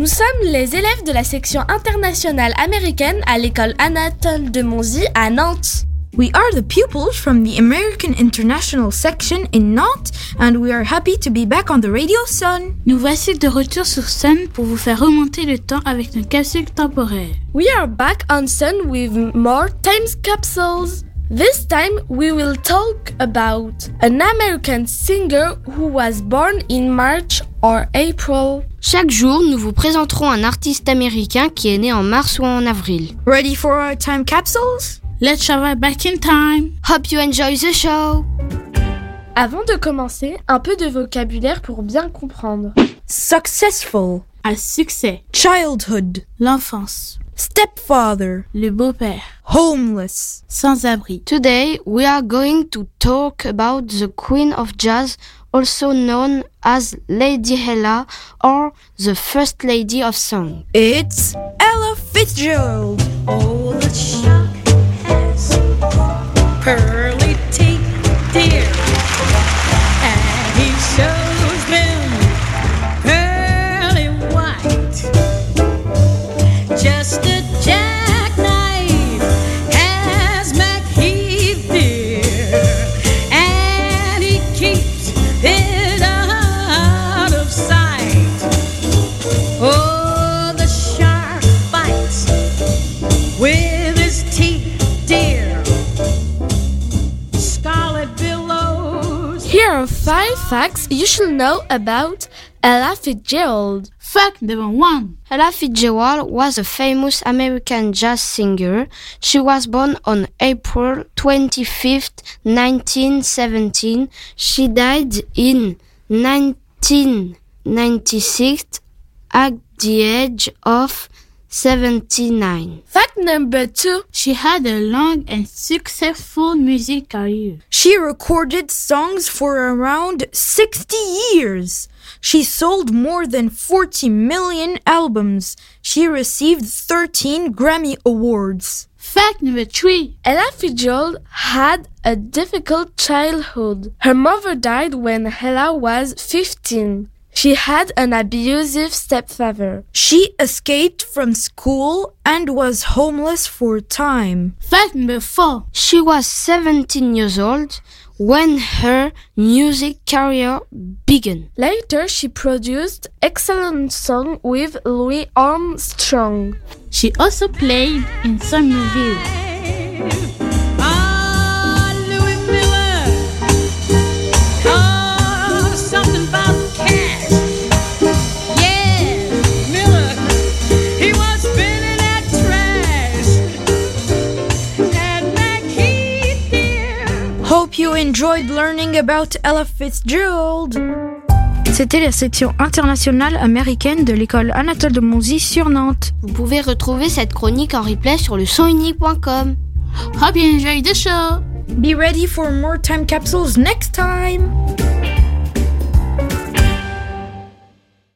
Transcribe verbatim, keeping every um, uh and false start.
sommes les élèves de la section internationale américaine à l'école Anatole de Monzy à Nantes. We are the pupils from the American International section in Nantes and we are happy to be back on the Radio Sun. Nous voici de retour sur Sun pour vous faire remonter le temps avec nos capsules temporaires. We are back on Sun with more time capsules. This time we will talk about an American singer who was born in March or April. Chaque jour, nous vous présenterons un artiste américain qui est né en mars ou en avril. Ready for our time capsules? Let's travel back in time. Hope you enjoy the show. Avant de commencer, un peu de vocabulaire pour bien comprendre. Successful. Un succès. Childhood. L'enfance. Stepfather. Le beau-père. Homeless. Sans-abri. Today, we are going to talk about the Queen of Jazz, also known as Lady Ella or the First Lady of Song. It's Ella Fitzgerald. Oh, the shark has pearly teeth, dear, and he shows them pearly white. Just a jackknife has MacHeath, dear, and he keeps it out of sight. Oh, the shark bites with his teeth, dear. Scarlet billows. Here are five facts you should know about Ella Fitzgerald. Fact number one. Ella Fitzgerald was a famous American jazz singer. She was born on April twenty-fifth, nineteen seventeen. She died in nineteen ninety-six at the age of seventy-nine. Fact number two. She had a long and successful music career. She recorded songs for around sixty years. She sold more than forty million albums. She received thirteen Grammy Awards. Fact number three. Ella Fitzgerald had a difficult childhood. Her mother died when Ella was fifteen. She had an abusive stepfather. She escaped from school and was homeless for a time. Fact number four. She was seventeen years old when her music career began. Later, she produced excellent songs with Louis Armstrong. She also played in some movies. Ah, Louis Miller. Oh, something about cash. Yeah, Miller. He was spinning that trash. And MacHeath, dear. Hope you enjoyed learning about Ella Fitzgerald. C'était la section internationale américaine de l'école Anatole de Monzy sur Nantes. Vous pouvez retrouver cette chronique en replay sur le son unique point com. Hope you enjoyed the show. Be ready for more time capsules next time.